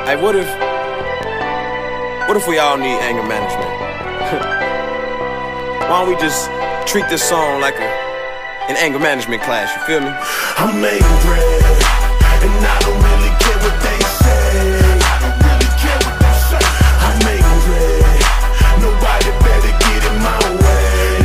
Hey, what if we all need anger management? Why don't we just treat this song like an anger management class, you feel me? I'm angry, and I don't really care what they say. I'm angry, nobody better get in my way.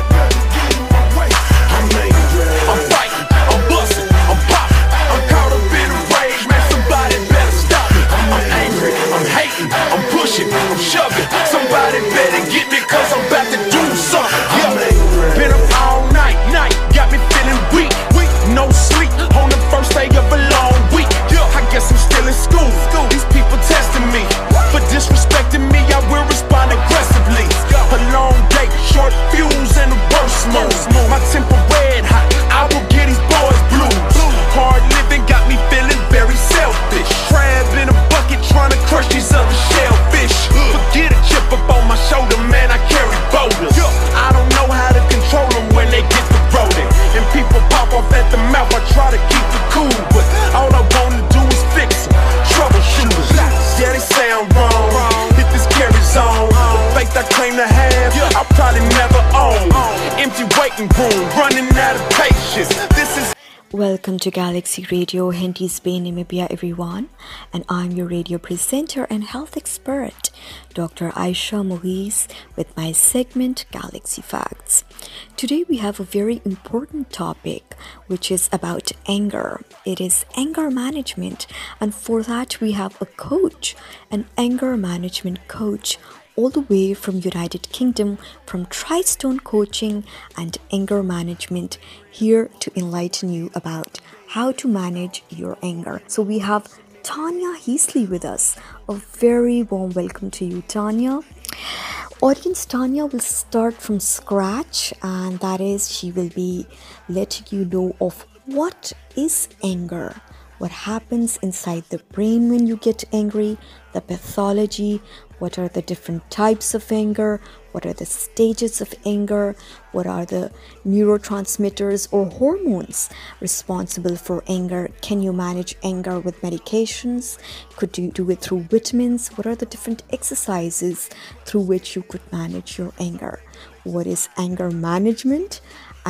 I'm angry, I'm fighting, I'm busting, I'm popping, I'm caught up in a rage, man, somebody better stop me. I'm angry, I'm hating, I'm pushing, I'm shoving, somebody better get me, cause I'm about to do something. Been up all night, got me feeling weak, no sleep on the first day of a long week. I guess I'm still in school. These people testing me for disrespecting me. I will respond aggressively. A long day, short fuse, and a burst mode. My temper red hot, I will get these boys blues. Hard living got me feeling very selfish. Crab in a bucket trying to crush these other shellfish. Forget a chip up on my shoulder, man, I carry boulders. I don't know how to control them when they get the rolling. And people pop off at the mouth, I try to keep it cool, but all I wanna do is fix them. Troubleshooters, yeah, they say I'm wrong. If this carries on, the faith I claim to have, I'll probably never own. Empty waiting room, running out of patience. This is Welcome to Galaxy Radio, Henty's Bay Namibia, everyone, and I'm your radio presenter and health expert, Dr. Aisha Maurice, with my segment Galaxy Facts. Today we have a very important topic, which is about anger. It is anger management, and for that we have a coach, an anger management coach, all the way from United Kingdom, from Triston Coaching and Anger Management, here to enlighten you about how to manage your anger. So we have Tanya Heasley with us. A very warm welcome to you, Tanya. Audience, Tanya will start from scratch, and that is, she will be letting you know of what is anger, what happens inside the brain when you get angry, the pathology, what are the different types of anger, what are the stages of anger, what are the neurotransmitters or hormones responsible for anger, can you manage anger with medications, could you do it through vitamins, what are the different exercises through which you could manage your anger, what is anger management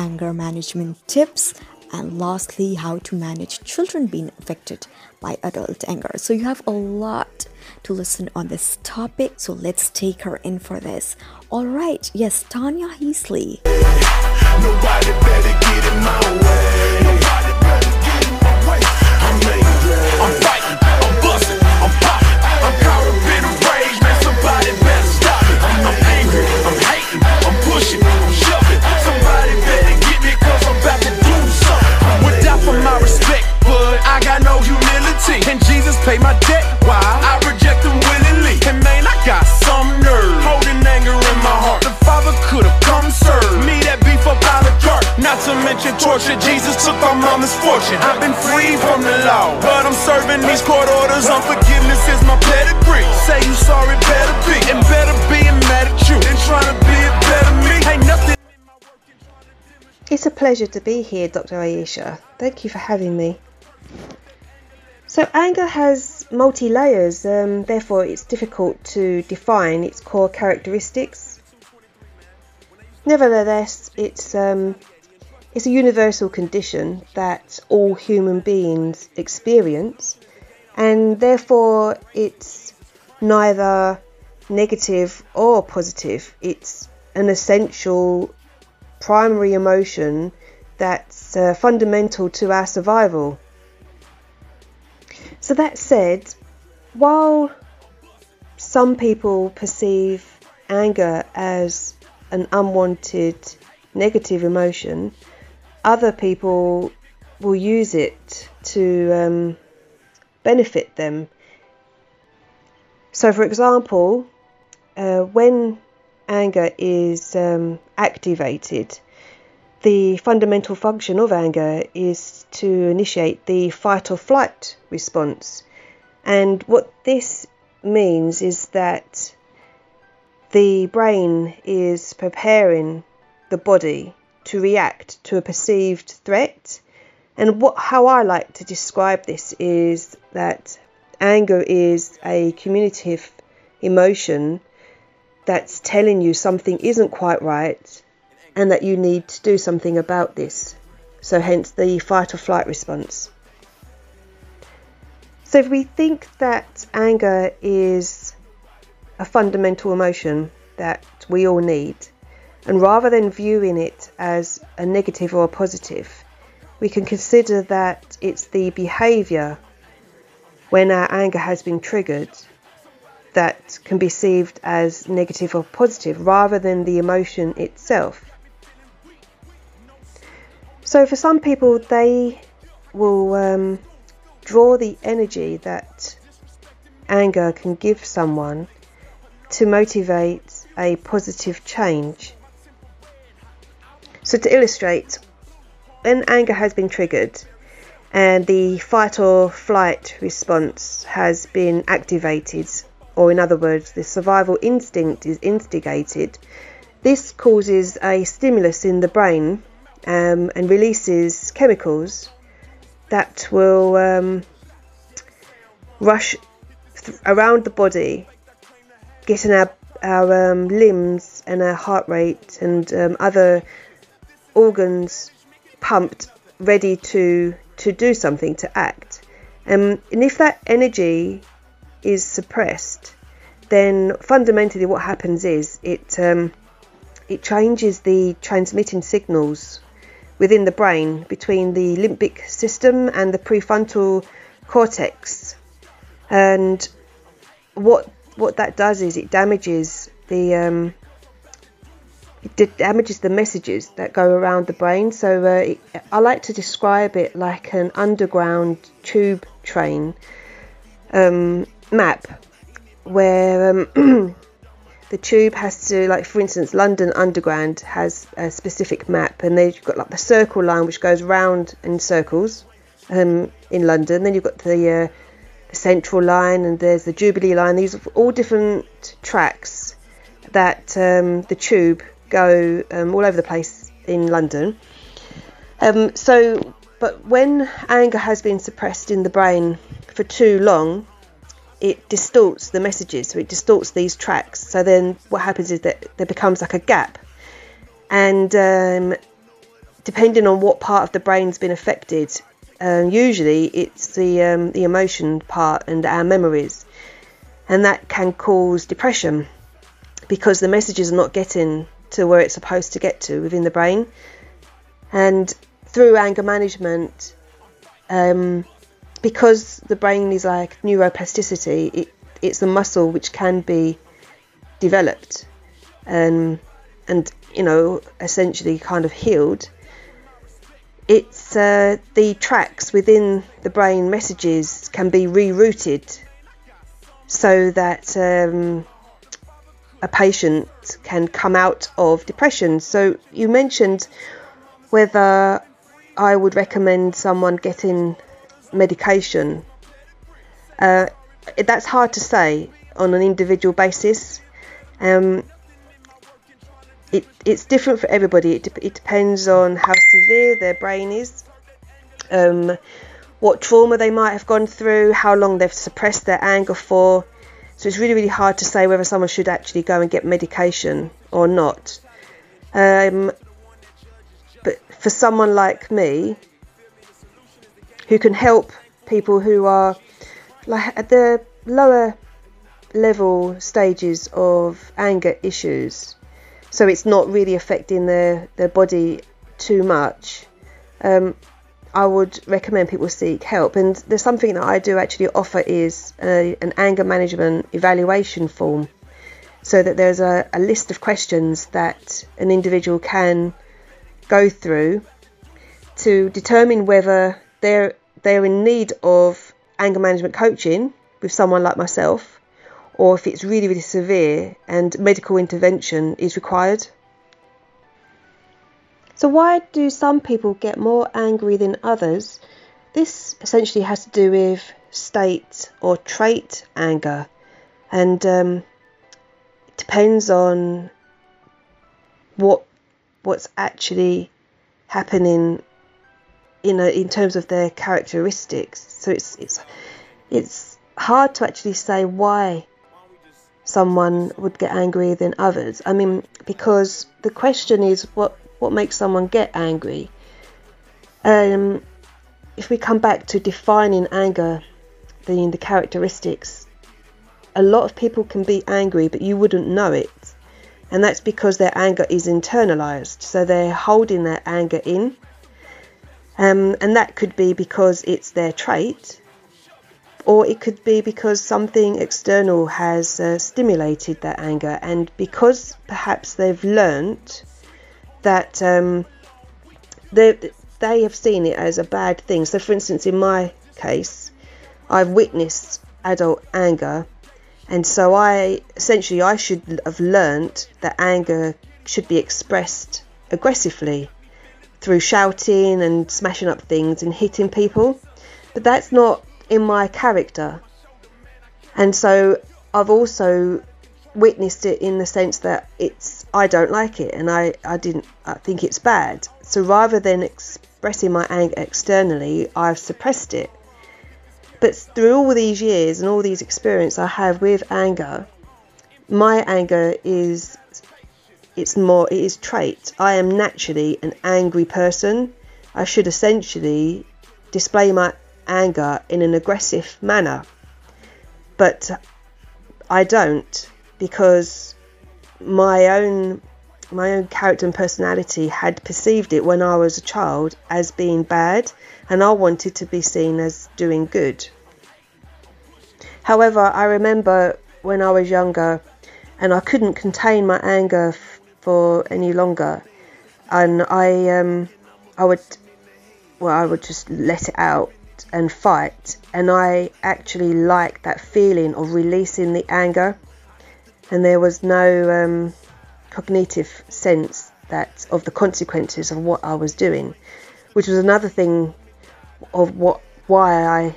tips, and lastly, how to manage children being affected by adult anger. So you have a lot to listen on this topic. So let's take her in for this. All right. Yes, Tanya Heasley. nobody better get in my way. Nobody better get in my way. I'm angry, I'm fighting, I'm busting, I'm popping, I'm caught up in a rage, man, somebody better stop me. I'm angry, I'm hating, I'm pushing, I'm shoving, somebody better get me, cause I'm about to do something. Would die for my respect, but I got no humility, and Jesus paid my debt, why? I reject him willingly, and man, I got some nerve, holding anger in my heart. The Father could've come serve me that beef up out of cart, not to mention torture. Jesus took my mama's fortune. I've been free from the law, but I'm serving these court orders. Unforgiveness is my pedigree. Say you sorry, better be, and better being mad at you than trying to be a better me. Ain't nothing. It's a pleasure to be here, Dr. Aisha. Thank you for having me. So anger has multi-layers, therefore it's difficult to define its core characteristics. Nevertheless, it's a universal condition that all human beings experience, and therefore it's neither negative or positive. It's an essential primary emotion that's fundamental to our survival. So that said, while some people perceive anger as an unwanted negative emotion, other people will use it to benefit them. So for example, when anger is activated, the fundamental function of anger is to initiate the fight or flight response. And what this means is that the brain is preparing the body to react to a perceived threat. And how I like to describe this is that anger is a communicative emotion that's telling you something isn't quite right and that you need to do something about this. So hence the fight or flight response. So if we think that anger is a fundamental emotion that we all need, and rather than viewing it as a negative or a positive, we can consider that it's the behaviour when our anger has been triggered that can be perceived as negative or positive rather than the emotion itself. So for some people, they will draw the energy that anger can give someone to motivate a positive change. So to illustrate, when anger has been triggered and the fight or flight response has been activated, or in other words, the survival instinct is instigated, this causes a stimulus in the brain and releases chemicals that will rush around the body, getting our limbs and our heart rate and other organs pumped, ready to do something, to act. And if that energy is suppressed, then fundamentally what happens is it changes the transmitting signals within the brain between the limbic system and the prefrontal cortex. And what that does is it damages the messages that go around the brain. So I like to describe it like an underground tube train map, where the tube has to, like for instance, London Underground has a specific map, and they've got like the circle line which goes round in circles in London. Then you've got the Central line, and there's the Jubilee line. These are all different tracks that the tube go all over the place in London. But when anger has been suppressed in the brain for too long, it distorts the messages, so it distorts these tracks. So then what happens is that there becomes like a gap, and depending on what part of the brain's been affected, usually it's the emotion part and our memories, and that can cause depression because the messages are not getting to where it's supposed to get to within the brain. And through anger management, because the brain is like neuroplasticity, it's a muscle which can be developed and essentially kind of healed. It's the tracks within the brain messages can be rerouted so that a patient can come out of depression. So you mentioned whether I would recommend someone getting medication. That's hard to say on an individual basis. It's different for everybody. It depends on how severe their brain is, what trauma they might have gone through, how long they've suppressed their anger for. So it's really, really hard to say whether someone should actually go and get medication or not. But for someone like me, who can help people who are like at the lower level stages of anger issues, so it's not really affecting their body too much, I would recommend people seek help. And there's something that I do actually offer is an anger management evaluation form, so that there's a list of questions that an individual can go through to determine whether they're in need of anger management coaching with someone like myself, or if it's really, really severe and medical intervention is required. So why do some people get more angry than others? This essentially has to do with state or trait anger, and it depends on what's actually happening in terms of their characteristics. So it's hard to actually say why someone would get angry than others. I mean, because the question is what makes someone get angry. If we come back to defining anger, the characteristics, a lot of people can be angry, but you wouldn't know it. And that's because their anger is internalized. So they're holding their anger in. And that could be because it's their trait, or it could be because something external has stimulated that anger, and because perhaps they've learnt that they have seen it as a bad thing. So for instance, in my case, I've witnessed adult anger, and so I should have learnt that anger should be expressed aggressively through shouting and smashing up things and hitting people, but that's not in my character. And so I've also witnessed it in the sense that I don't like it, and I think it's bad. So rather than expressing my anger externally, I've suppressed it. But through all these years and all these experiences I have with anger, my anger is trait. I am naturally an angry person. I should essentially display my anger in an aggressive manner, but I don't, because my own character and personality had perceived it when I was a child as being bad, and I wanted to be seen as doing good. However, I remember when I was younger and I couldn't contain my anger for any longer, and I would just let it out and fight, and I actually liked that feeling of releasing the anger, and there was no cognitive sense of the consequences of what I was doing, which was another thing of why I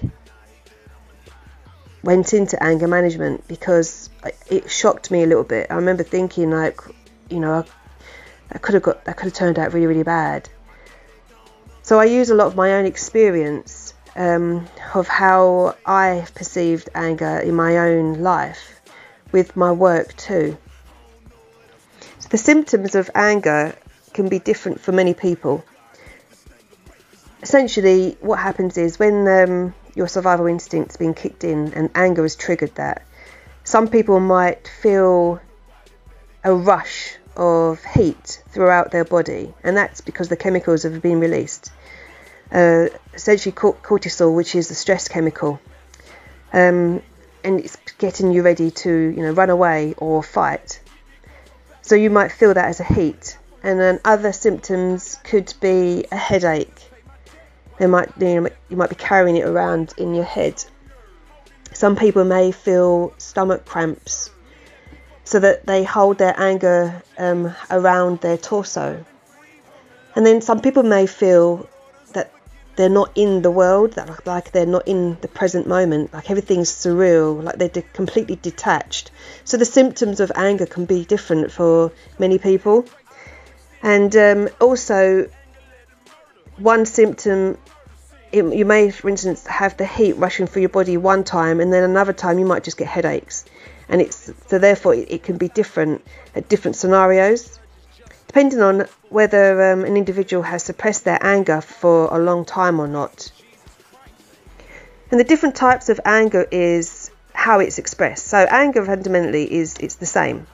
went into anger management, because it shocked me a little bit. I remember thinking, like, that could have turned out really, really bad. So I use a lot of my own experience of how I perceived anger in my own life with my work too. So the symptoms of anger can be different for many people. Essentially, what happens is when your survival instinct's been kicked in and anger has triggered that, some people might feel a rush of heat throughout their body, and that's because the chemicals have been released. Essentially cortisol, which is the stress chemical, and it's getting you ready to run away or fight. So you might feel that as a heat, and then other symptoms could be a headache. You might be carrying it around in your head. Some people may feel stomach cramps, so that they hold their anger around their torso. And then some people may feel that they're not in the world, that like they're not in the present moment, like everything's surreal, like they're completely detached. So the symptoms of anger can be different for many people. And also, one symptom, you may, for instance, have the heat rushing through your body one time, and then another time you might just get headaches. And therefore it can be different at different scenarios, depending on whether an individual has suppressed their anger for a long time or not. And the different types of anger is how it's expressed. So anger fundamentally it's the same.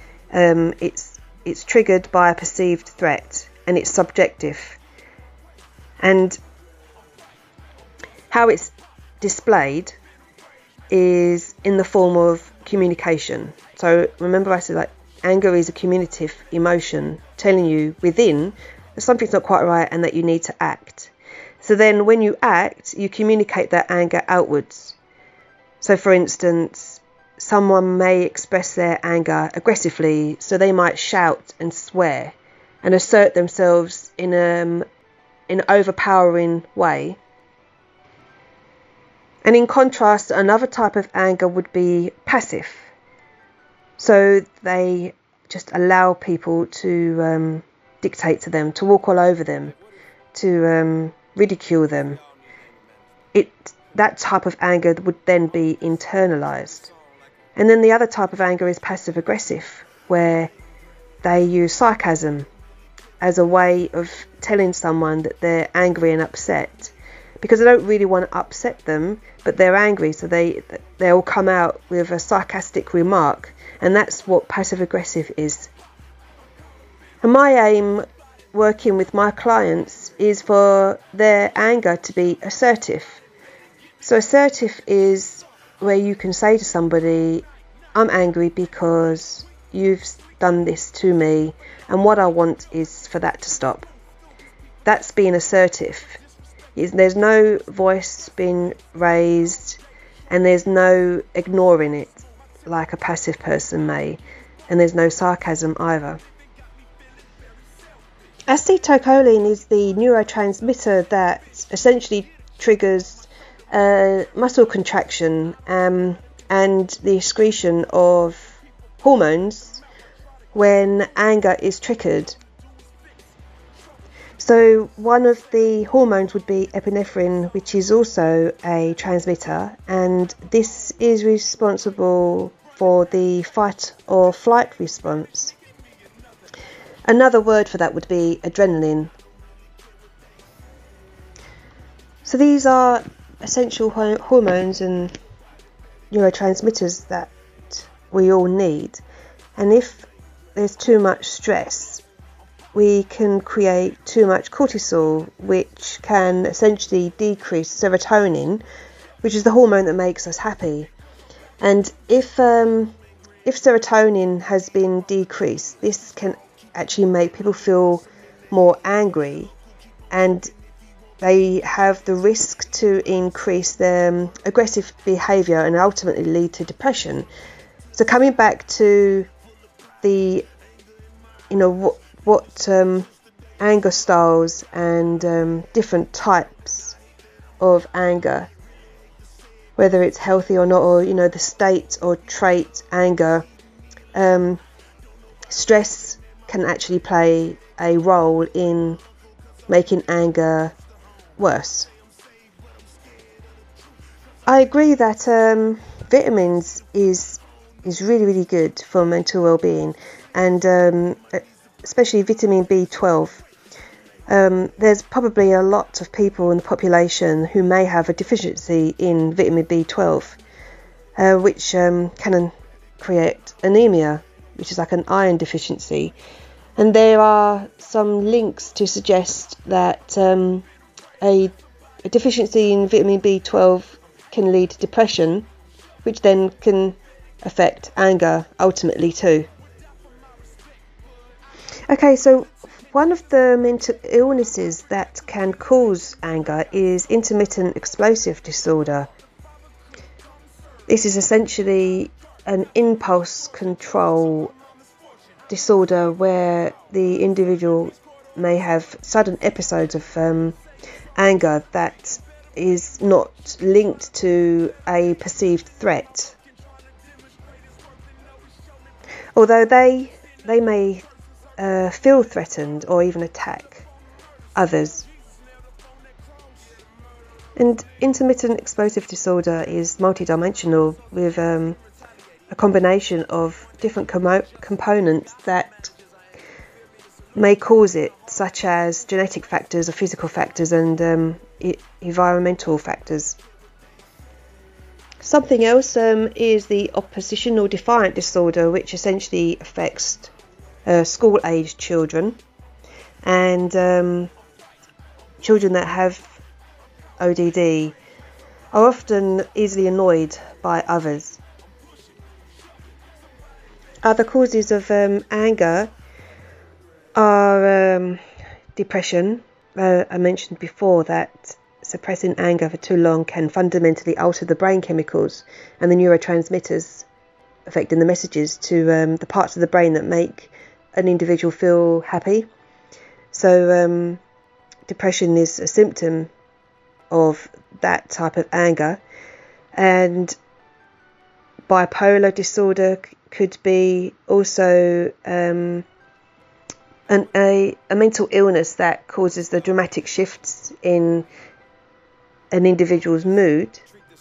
It's triggered by a perceived threat, and it's subjective. And how it's displayed is in the form of communication. So remember, I said, like, anger is a communicative emotion telling you within that something's not quite right and that you need to act. So then when you act, you communicate that anger outwards. So for instance, someone may express their anger aggressively, so they might shout and swear and assert themselves in an overpowering way. And in contrast, another type of anger would be passive. So they just allow people to dictate to them, to walk all over them, to ridicule them. that type of anger would then be internalized. And then the other type of anger is passive aggressive, where they use sarcasm as a way of telling someone that they're angry and upset, because they don't really want to upset them, but they're angry, so they'll come out with a sarcastic remark, and that's what passive aggressive is. And my aim working with my clients is for their anger to be assertive. So assertive is where you can say to somebody, I'm angry because you've done this to me, and what I want is for that to stop. That's being assertive. There's no voice being raised, and there's no ignoring it like a passive person may, and there's no sarcasm either. Acetylcholine is the neurotransmitter that essentially triggers muscle contraction and the excretion of hormones when anger is triggered. So one of the hormones would be epinephrine, which is also a transmitter, and this is responsible for the fight or flight response. Another word for that would be adrenaline. So these are essential hormones and neurotransmitters that we all need. And if there's too much stress, we can create too much cortisol, which can essentially decrease serotonin, which is the hormone that makes us happy. And if serotonin has been decreased, this can actually make people feel more angry, and they have the risk to increase their aggressive behaviour and ultimately lead to depression. So coming back to the, what anger styles and different types of anger, whether it's healthy or not, or the state or trait anger, stress can actually play a role in making anger worse. I agree that vitamins is really, really good for mental well-being, and especially vitamin B12. There's probably a lot of people in the population who may have a deficiency in vitamin B12, which can create anemia, which is like an iron deficiency. And there are some links to suggest that a deficiency in vitamin B12 can lead to depression, which then can affect anger ultimately too. Okay, so one of the mental illnesses that can cause anger is intermittent explosive disorder. This is essentially an impulse control disorder where the individual may have sudden episodes of anger that is not linked to a perceived threat. Although they may feel threatened or even attack others. And intermittent explosive disorder is multidimensional with a combination of different components that may cause it, such as genetic factors or physical factors and environmental factors. Something else is the oppositional defiant disorder, which essentially affects school-aged children and children that have ODD are often easily annoyed by others. Other causes of anger are depression. I mentioned before that suppressing anger for too long can fundamentally alter the brain chemicals and the neurotransmitters, affecting the messages to the parts of the brain that make an individual feel happy. So depression is a symptom of that type of anger, and bipolar disorder could be also a mental illness that causes the dramatic shifts in an individual's mood.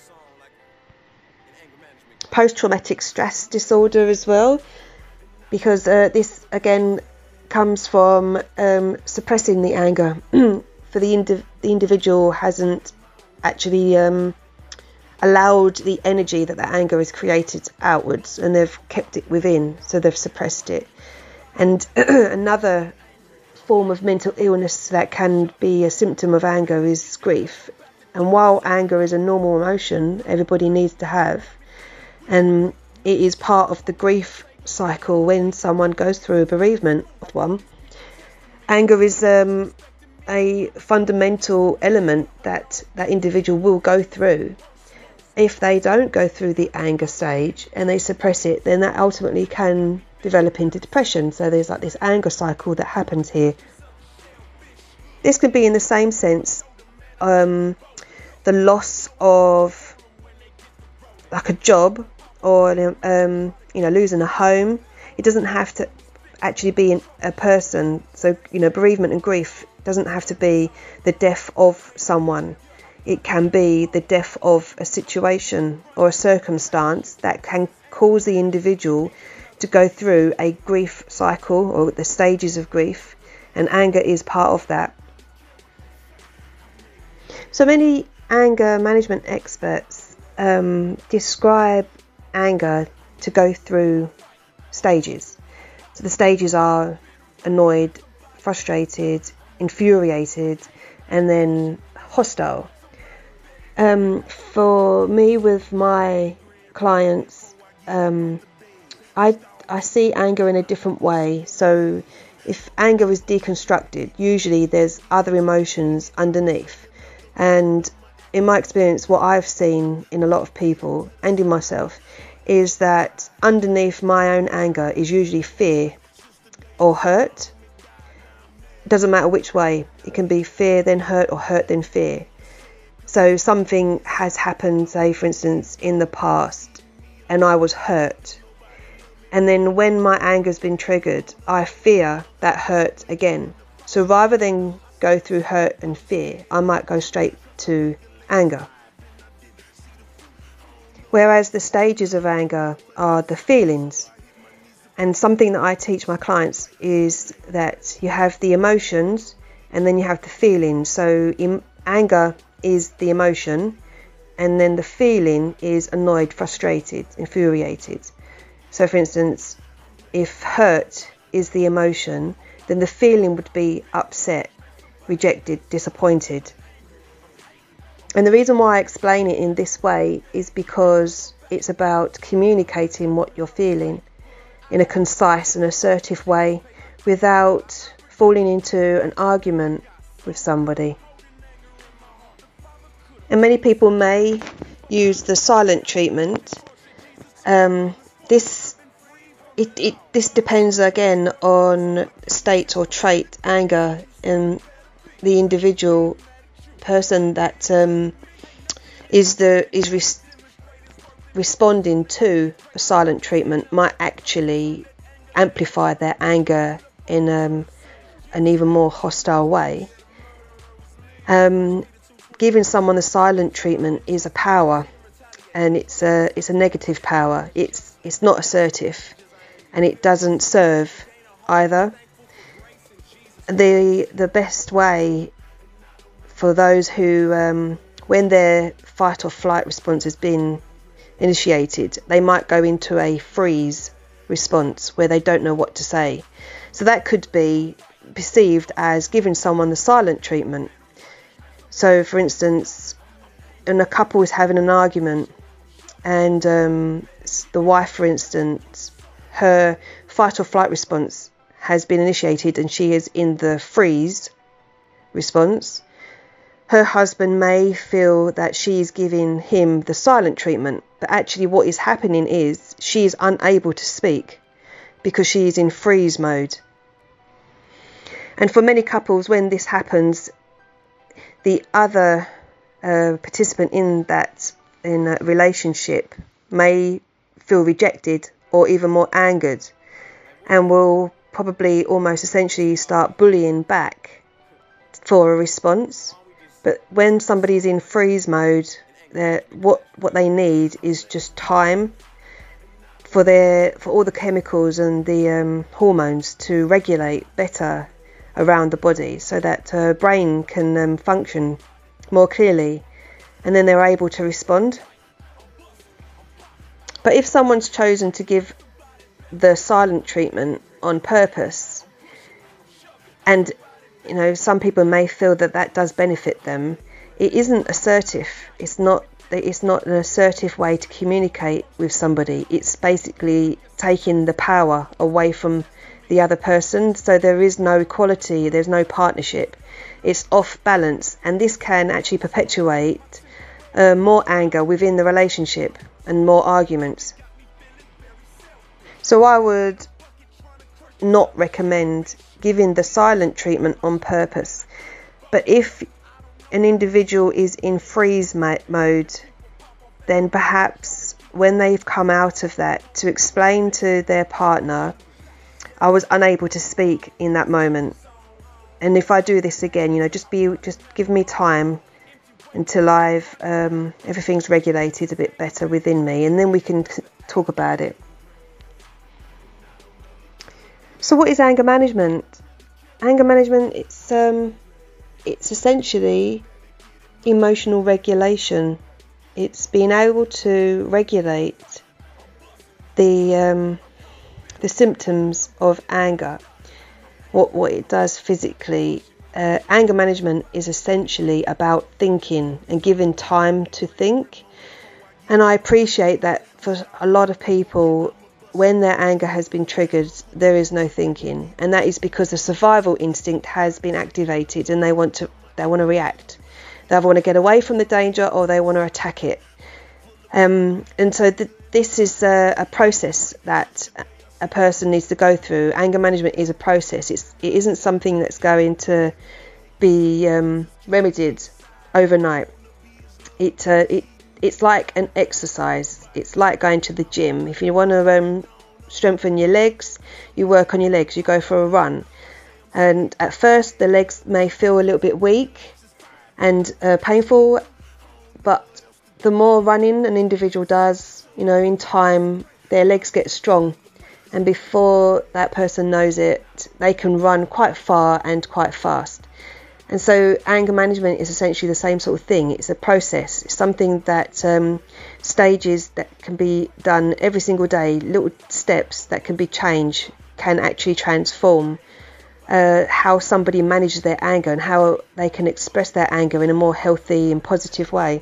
Post-traumatic stress disorder as well, because this again comes from suppressing the anger. For the individual hasn't actually allowed the energy that anger is created outwards, and they've kept it within, so they've suppressed it. And another form of mental illness that can be a symptom of anger is grief. And while anger is a normal emotion everybody needs to have, and it is part of the grief cycle when someone goes through a bereavement of one, anger is a fundamental element that individual will go through. If they don't go through the anger stage and they suppress it, then that ultimately can develop into depression. So there's like this anger cycle that happens here. This could be in the same sense, the loss of like a job, or losing a home. It doesn't have to actually be a person. So bereavement and grief doesn't have to be the death of someone. It can be the death of a situation or a circumstance that can cause the individual to go through a grief cycle, or the stages of grief, and anger is part of that. So many anger management experts describe anger to go through stages. So the stages are annoyed, frustrated, infuriated, and then hostile. For me, with my clients, I see anger in a different way. So if anger is deconstructed, usually there's other emotions underneath. And in my experience, what I've seen in a lot of people and in myself is that underneath my own anger is usually fear or hurt. It doesn't matter which way. It can be fear then hurt, or hurt then fear. So something has happened, say for instance in the past, and I was hurt. And then when my anger's been triggered, I fear that hurt again. So rather than go through hurt and fear, I might go straight to anger. Whereas the stages of anger are the feelings. And something that I teach my clients is that you have the emotions and then you have the feelings. So anger is the emotion, and then the feeling is annoyed, frustrated, infuriated. So for instance, if hurt is the emotion, then the feeling would be upset, rejected, disappointed. And the reason why I explain it in this way is because it's about communicating what you're feeling in a concise and assertive way without falling into an argument with somebody. And many people may use the silent treatment. This depends again on state or trait, anger, and the individual person that is responding to a silent treatment might actually amplify their anger in an even more hostile way. Giving someone the silent treatment is a power, and it's a negative power. It's not assertive, and it doesn't serve either. The best way for those who, when their fight or flight response has been initiated, they might go into a freeze response where they don't know what to say. So that could be perceived as giving someone the silent treatment. So for instance, when a couple is having an argument and the wife, for instance, her fight or flight response has been initiated and she is in the freeze response, her husband may feel that she is giving him the silent treatment, but actually what is happening is she is unable to speak because she is in freeze mode. And for many couples, when this happens, the other participant in a relationship may feel rejected or even more angered, and will probably almost essentially start bullying back for a response, But when somebody's in freeze mode, what they need is just time for all the chemicals and the hormones to regulate better around the body, so that brain can function more clearly, and then they're able to respond. But if someone's chosen to give the silent treatment on purpose, and some people may feel that does benefit them, it isn't assertive. It's not an assertive way to communicate with somebody. It's basically taking the power away from the other person, so there is no equality, there's no partnership. It's off balance, and this can actually perpetuate more anger within the relationship and more arguments. So I would not recommend giving the silent treatment on purpose. But if an individual is in freeze mode, then perhaps when they've come out of that, to explain to their partner, I was unable to speak in that moment, and if I do this again, just give me time until I've everything's regulated a bit better within me, and then we can talk about it. So what is anger management? Anger management, it's essentially emotional regulation. It's being able to regulate the symptoms of anger, what it does physically. Anger management is essentially about thinking and giving time to think. And I appreciate that for a lot of people, when their anger has been triggered, there is no thinking, and that is because the survival instinct has been activated, and they want to react. They either want to get away from the danger or they want to attack it. And so this is a process that a person needs to go through. Anger management is a process. It isn't something that's going to be remedied overnight. It's like an exercise. It's like going to the gym. If you want to strengthen your legs, you work on your legs. You go for a run, and at first the legs may feel a little bit weak and painful, but the more running an individual does, in time their legs get strong, and before that person knows it, they can run quite far and quite fast. And so anger management is essentially the same sort of thing. It's a process. It's something that stages that can be done every single day, little steps that can be changed, can actually transform how somebody manages their anger and how they can express their anger in a more healthy and positive way.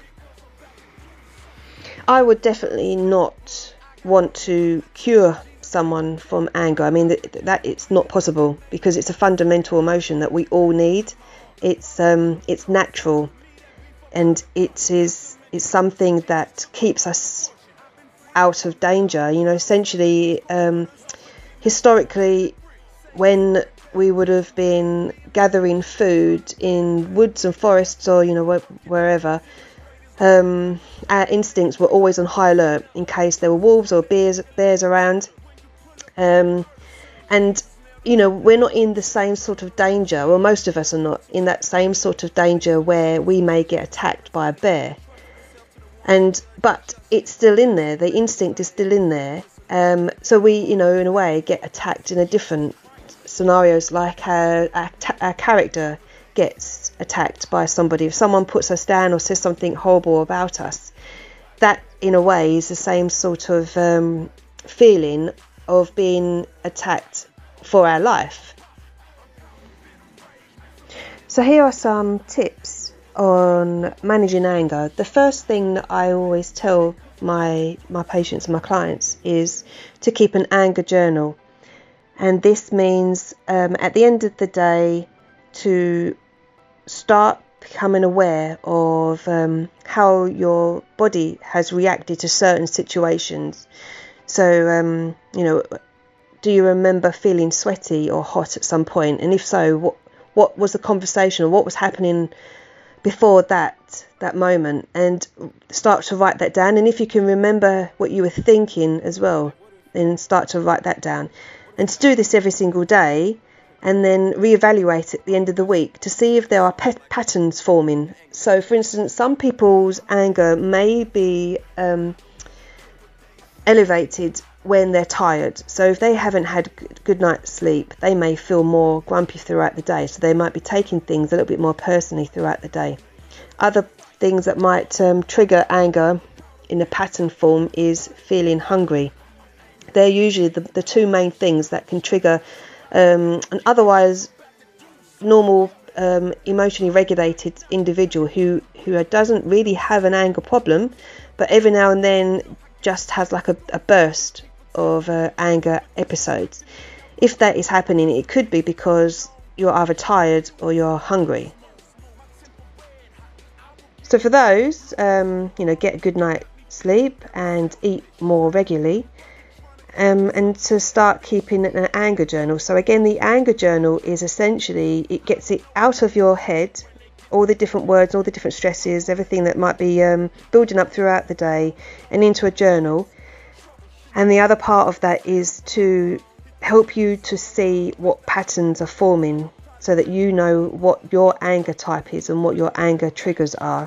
I would definitely not want to cure someone from anger. I mean, that it's not possible, because it's a fundamental emotion that we all need. It's natural, and it's something that keeps us out of danger. Essentially, historically, when we would have been gathering food in woods and forests, or wherever, our instincts were always on high alert in case there were wolves or bears around. And we're not in the same sort of danger, or most of us are not in that same sort of danger where we may get attacked by a bear. But it's still in there. The instinct is still in there. So we, in a way, get attacked in a different scenarios, like our character gets attacked by somebody. If someone puts us down or says something horrible about us, that in a way is the same sort of feeling of being attacked for our life. So here are some tips on managing anger. The first thing that I always tell my patients and my clients is to keep an anger journal. And this means at the end of the day to start becoming aware of how your body has reacted to certain situations. So, do you remember feeling sweaty or hot at some point? And if so, what was the conversation, or what was happening before that moment? And start to write that down. And if you can remember what you were thinking as well, then start to write that down. And to do this every single day, and then reevaluate at the end of the week to see if there are patterns forming. So, for instance, some people's anger may be elevated when they're tired. So if they haven't had good night's sleep, they may feel more grumpy throughout the day. So they might be taking things a little bit more personally throughout the day. Other things that might trigger anger in a pattern form is feeling hungry. They're usually the two main things that can trigger an otherwise normal emotionally regulated individual who doesn't really have an anger problem, but every now and then just has like a burst of anger episodes. If that is happening, it could be because you're either tired or you're hungry. So for those, get a good night's sleep and eat more regularly, and to start keeping an anger journal. So again, the anger journal is essentially, it gets it out of your head, all the different words, all the different stresses, everything that might be building up throughout the day, and into a journal. And the other part of that is to help you to see what patterns are forming, so that you know what your anger type is and what your anger triggers are.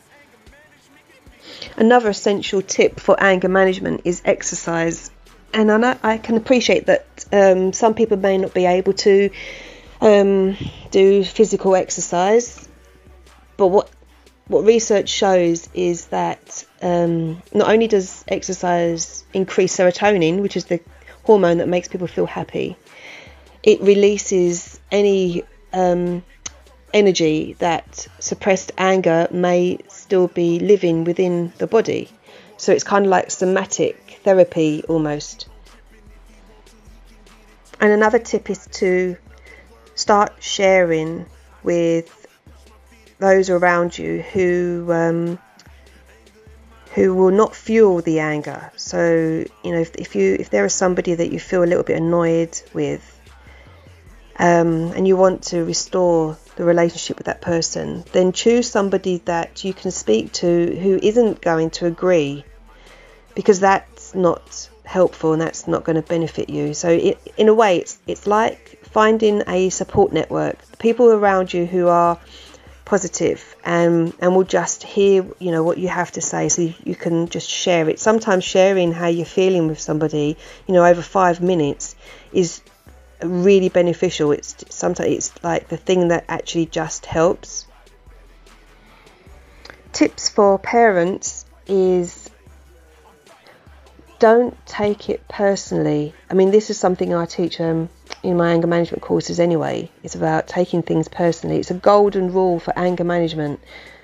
Another essential tip for anger management is exercise. And I can appreciate that some people may not be able to do physical exercise, but what research shows is that not only does exercise increase serotonin, which is the hormone that makes people feel happy, it releases any energy that suppressed anger may still be living within the body. So it's kind of like somatic therapy almost. And another tip is to start sharing with those around you who will not fuel the anger. So, if there is somebody that you feel a little bit annoyed with, and you want to restore the relationship with that person, then choose somebody that you can speak to who isn't going to agree, because that's not helpful and that's not going to benefit you. So in a way, it's like finding a support network, people around you who are positive and will just hear what you have to say, so you can just share it. Sometimes sharing how you're feeling with somebody over 5 minutes is really beneficial. Sometimes it's like the thing that actually just helps. Tips for parents is, don't take it personally. I mean, this is something I teach in my anger management courses anyway. It's about taking things personally. It's a golden rule for anger management,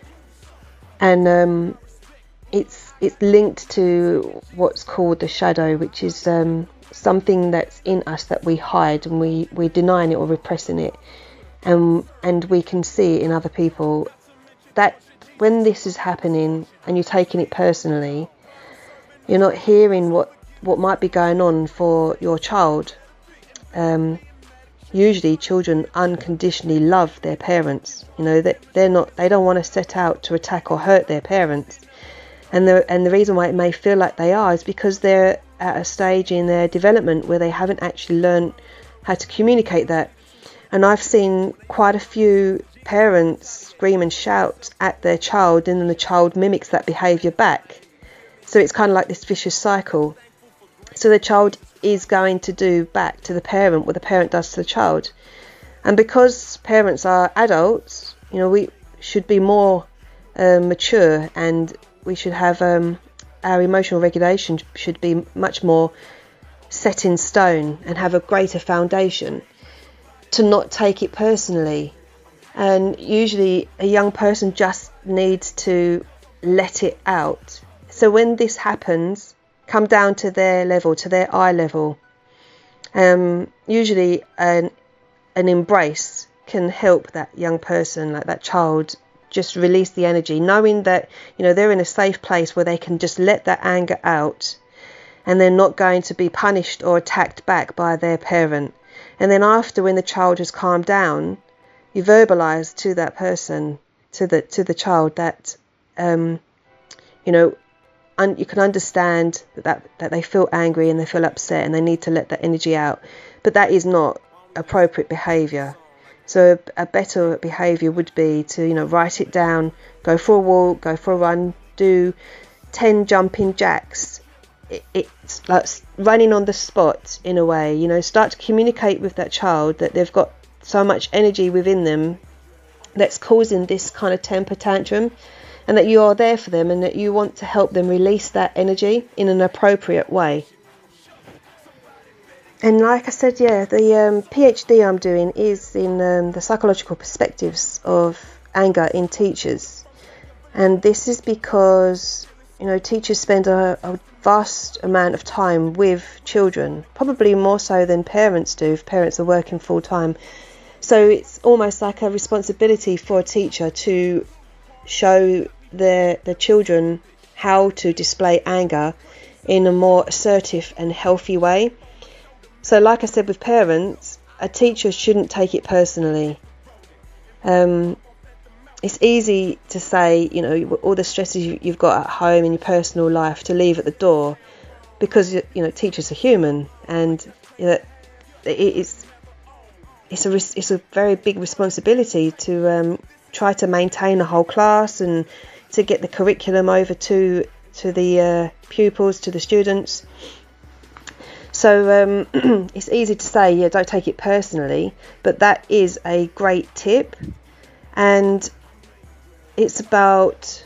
and it's linked to what's called the shadow, which is something that's in us that we hide, and we're denying it or repressing it, and we can see it in other people. That when this is happening and you're taking it personally, you're not hearing what might be going on for your child. Usually children unconditionally love their parents. That they don't want to set out to attack or hurt their parents. And the reason why it may feel like they are is because they're at a stage in their development where they haven't actually learned how to communicate that. And I've seen quite a few parents scream and shout at their child, and then the child mimics that behaviour back. So it's kind of like this vicious cycle. So the child is going to do back to the parent what the parent does to the child. And because parents are adults, we should be more mature, and we should have our emotional regulation should be much more set in stone and have a greater foundation to not take it personally. And usually a young person just needs to let it out. So when this happens, come down to their level, to their eye level. Usually an embrace can help that young person, like that child, just release the energy, knowing that they're in a safe place where they can just let that anger out, and they're not going to be punished or attacked back by their parent. And then after, when the child has calmed down, you verbalize to that person, to the child, that you can understand that they feel angry and they feel upset and they need to let that energy out. But that is not appropriate behaviour. So a better behaviour would be to, write it down, go for a walk, go for a run, do 10 jumping jacks. It's like running on the spot in a way, start to communicate with that child that they've got so much energy within them that's causing this kind of temper tantrum, and that you are there for them and that you want to help them release that energy in an appropriate way. And like I said, the PhD I'm doing is in the psychological perspectives of anger in teachers. And this is because, teachers spend a vast amount of time with children, probably more so than parents do if parents are working full time. So it's almost like a responsibility for a teacher to show the children how to display anger in a more assertive and healthy way. So like I said with parents, a teacher shouldn't take it personally. It's easy to say, all the stresses you've got at home in your personal life to leave at the door, because, teachers are human, and it's a very big responsibility to try to maintain a whole class and to get the curriculum over to the pupils, to the students. So it's easy to say, don't take it personally, but that is a great tip. And it's about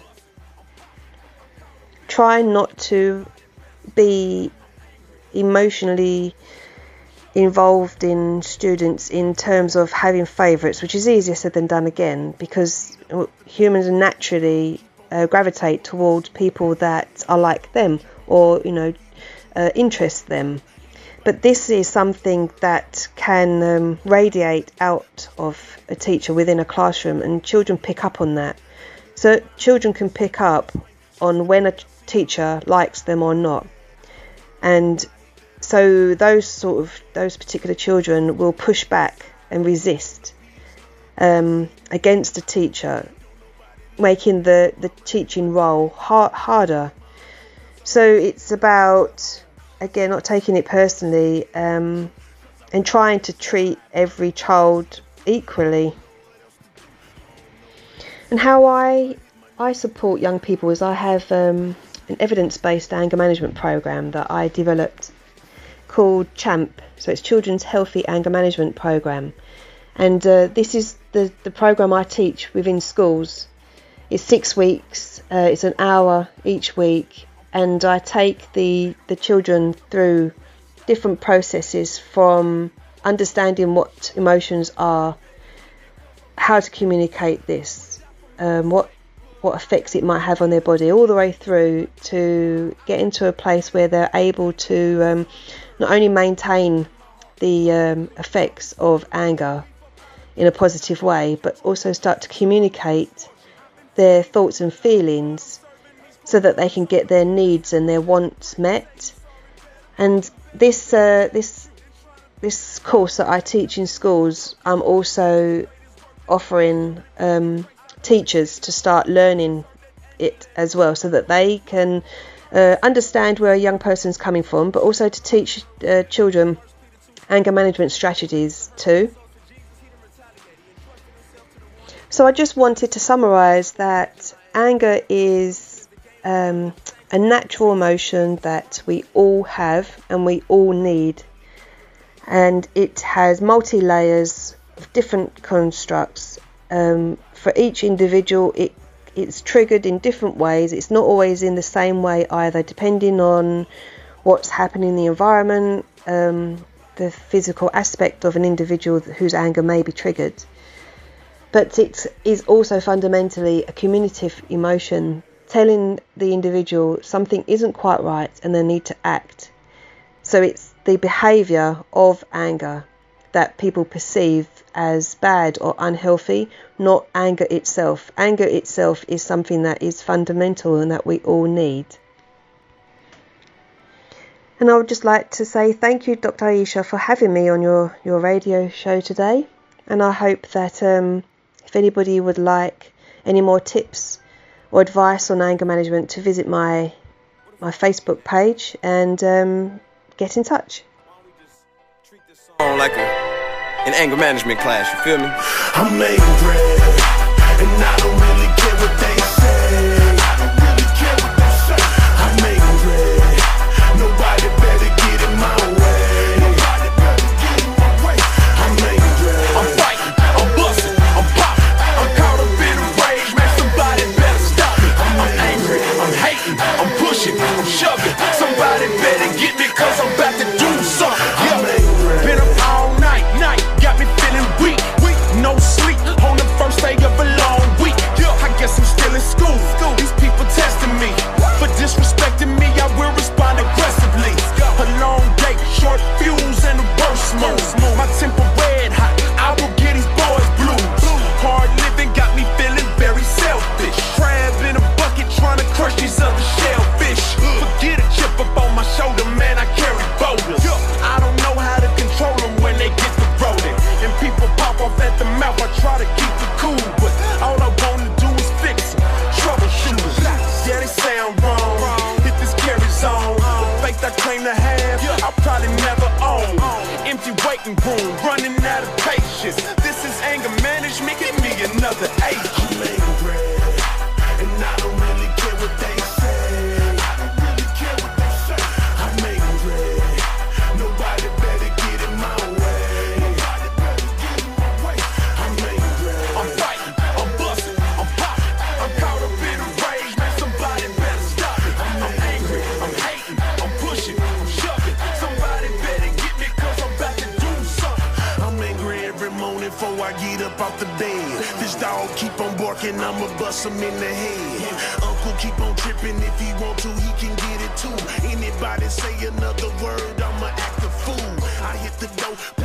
trying not to be emotionally involved in students in terms of having favourites, which is easier said than done again, because humans naturally gravitate towards people that are like them or, interest them. But this is something that can radiate out of a teacher within a classroom, and children pick up on that. So children can pick up on when a teacher likes them or not. And so those particular children will push back and resist against the teacher, making the teaching role harder. So it's about, again, not taking it personally, and trying to treat every child equally. And how I support young people is I have an evidence-based anger management program that I developed called CHAMP, so it's Children's Healthy Anger Management Program. And this is the program I teach within schools. It's 6 weeks, it's an hour each week, and I take the children through different processes, from understanding what emotions are, how to communicate this, what effects it might have on their body, all the way through to get into a place where they're able to not only maintain the effects of anger in a positive way, but also start to communicate their thoughts and feelings so that they can get their needs and their wants met. And this course that I teach in schools, I'm also offering teachers to start learning it as well, so that they can understand where a young person's coming from, but also to teach children anger management strategies too. So I just wanted to summarise that anger is a natural emotion that we all have and we all need, and it has multi-layers of different constructs. For each individual, it's triggered in different ways. It's not always in the same way either, depending on what's happening in the environment, the physical aspect of an individual whose anger may be triggered. But it is also fundamentally a communicative emotion, telling the individual something isn't quite right and they need to act. So it's the behaviour of anger that people perceive as bad or unhealthy, not anger itself. Anger itself is something that is fundamental and that we all need. And I would just like to say thank you, Dr. Aisha, for having me on your radio show today. And I hope that if anybody would like any more tips or advice on anger management, to visit my Facebook page and get in touch. Like an anger management class, you feel me? I'm angry, and I don't really care what they say. I'm angry, nobody better get in my way. I'm angry, I'm fighting, I'm busting, I'm popping, I'm caught up in a rage, man, somebody better stop me. I'm angry, I'm hating, I'm pushing, I'm shoving, somebody better get me, cause I'm about to do something. Been up all night, got me feeling weak, no sleep on the first day of a long week. I guess I'm still in school, these people testing me, for disrespecting me, I will respond aggressively. A long day, short fuse and a worse mode. My temper red hot, I will get these boys blues. Hard living got me feeling very selfish. Crab in a bucket trying to crush these other shellfish. Forget a chip up on my shoulder, man, I carry boulders. I don't know how to control them when they get the rolling. And people pop off at the mouth, I try to keep it cool, but all I wanna do is fix them. Troubleshooters, yeah, they sound wrong. If this carries on, the faith I claim to have, I'll probably never own. Empty waiting room, running out of patience. This is anger management, give me another agent. I'm angry, and I don't really care what they say. I'm angry, nobody better get in my way. I'm angry, I'm fighting, I'm busting, I'm popping, I'm caught up in a rage, man, somebody better stop me. I'm angry, I'm hating, I'm pushing, I'm shoving, somebody better get me, cause I'm about to do something. I'm angry every morning before I get up off the bed. This dog keep on barking, I'ma bust him in the head. Uncle keep on tripping, if he want to, he can get it too. Anybody say another word, I'ma act a fool. I hit the door,